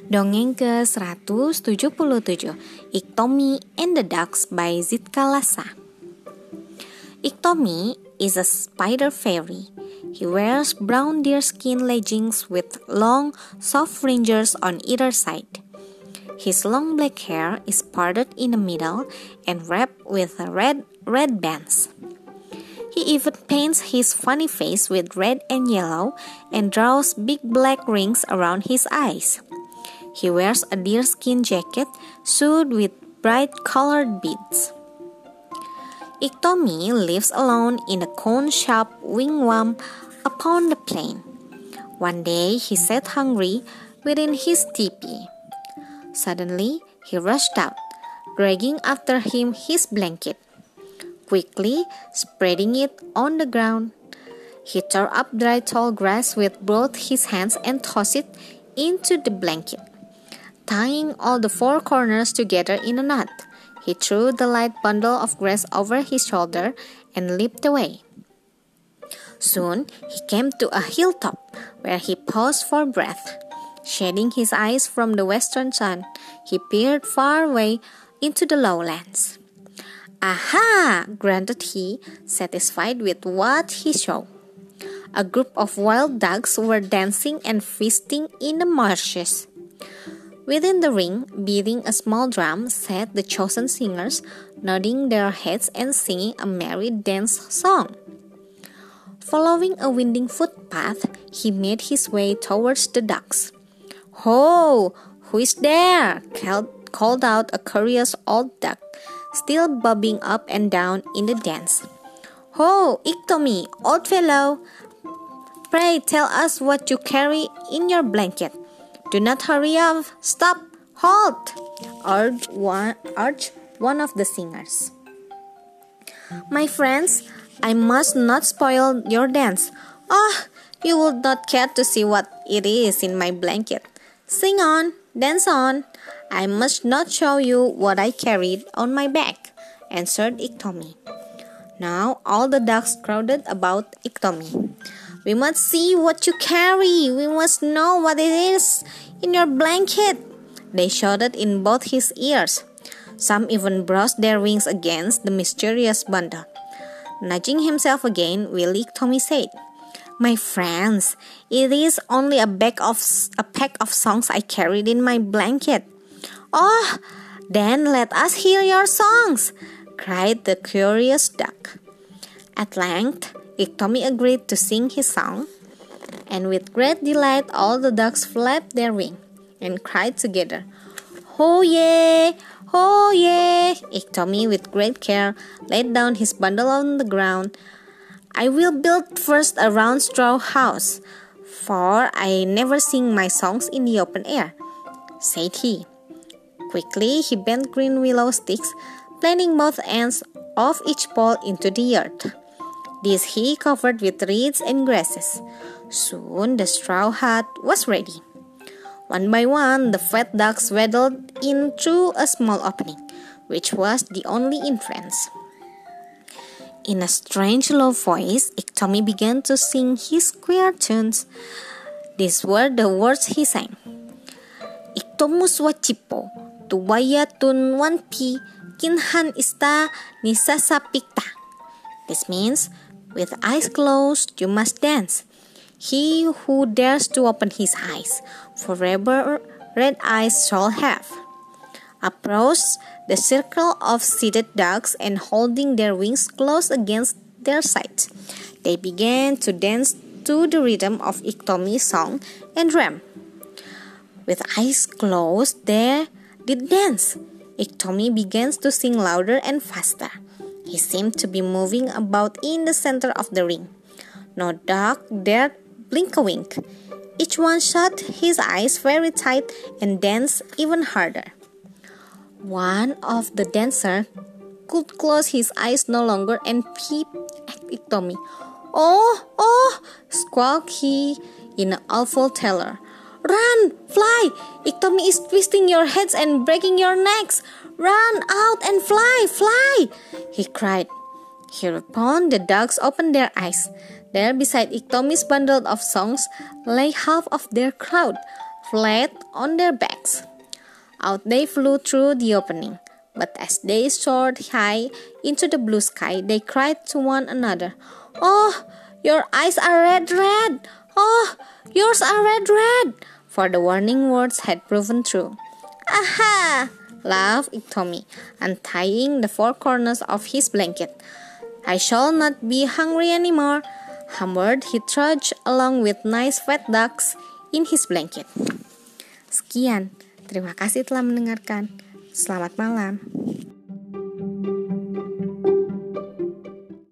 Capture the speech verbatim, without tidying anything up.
Dongeng ke seratus tujuh puluh tujuh, Iktomi and the Ducks by Zitka Lassa. Iktomi is a spider fairy. He wears brown deerskin leggings with long, soft fringes on either side. His long black hair is parted in the middle and wrapped with red, red bands. He even paints his funny face with red and yellow and draws big black rings around his eyes. He wears a deerskin jacket sewed with bright-colored beads. Iktomi lives alone in a cone-shaped wigwam upon the plain. One day he sat hungry within his teepee. Suddenly he rushed out, dragging after him his blanket. Quickly spreading it on the ground, he tore up dry tall grass with both his hands and tossed it into the blanket. Tying all the four corners together in a knot, he threw the light bundle of grass over his shoulder and leaped away. Soon he came to a hilltop where he paused for breath. Shading his eyes from the western sun, he peered far away into the lowlands. "Aha!" grunted he, satisfied with what he saw. A group of wild ducks were dancing and feasting in the marshes. Within the ring, beating a small drum, sat the chosen singers, nodding their heads and singing a merry dance song. Following a winding footpath, he made his way towards the ducks. "Ho! Who is there?" called out a curious old duck, still bobbing up and down in the dance. "Ho, Iktomi, old fellow! Pray tell us what you carry in your blanket. Do not hurry up, stop, halt!" urged one, urged one of the singers. "My friends, I must not spoil your dance. Ah, you would not care to see what it is in my blanket. Sing on, dance on. I must not show you what I carried on my back," answered Iktomi. Now all the ducks crowded about Iktomi. "We must see what you carry. We must know what it is in your blanket," they shouted in both his ears. Some even brushed their wings against the mysterious bundle. Nudging himself again, Willie Iktomi said, "My friends, it is only a bag of a pack of songs I carried in my blanket." "Oh, then let us hear your songs," cried the curious duck. At length, Iktomi agreed to sing his song, and with great delight all the ducks flapped their wings and cried together, "Ho ye! Ho ye!" Iktomi with great care laid down his bundle on the ground. "I will build first a round straw house, for I never sing my songs in the open air," said he. Quickly he bent green willow sticks, planting both ends of each pole into the earth. This he covered with reeds and grasses. Soon the straw hut was ready. One by one, the fat ducks waddled in through a small opening, which was the only entrance. In a strange low voice, Iktomi began to sing his queer tunes. These were the words he sang. "Iktomus wacipo, tuwayatun wanpi, kinhan ista nisasa pikta." This means, with eyes closed, you must dance. He who dares to open his eyes, forever red eyes shall have. Approached the circle of seated ducks and holding their wings close against their sides, they began to dance to the rhythm of Iktomi's song and drum. With eyes closed, they did dance. Iktomi began to sing louder and faster. He seemed to be moving about in the center of the ring. No duck dared blink a wink. Each one shut his eyes very tight and danced even harder. One of the dancers could close his eyes no longer and peep at Iktomi. "Oh, oh!" squawked he in an awful terror. "Run, fly! Iktomi is twisting your heads and breaking your necks. Run out and fly, fly!" he cried. Hereupon the ducks opened their eyes. There beside Iktomi's bundle of songs lay half of their crowd, flat on their backs. Out they flew through the opening, but as they soared high into the blue sky, they cried to one another, "Oh, your eyes are red, red! Oh, yours are red, red!" For the warning words had proven true. "Aha!" laughed Iktomi, untying the four corners of his blanket. "I shall not be hungry anymore." Humbered, he trudged along with nice fat ducks in his blanket. Sekian, terima kasih telah mendengarkan. Selamat malam.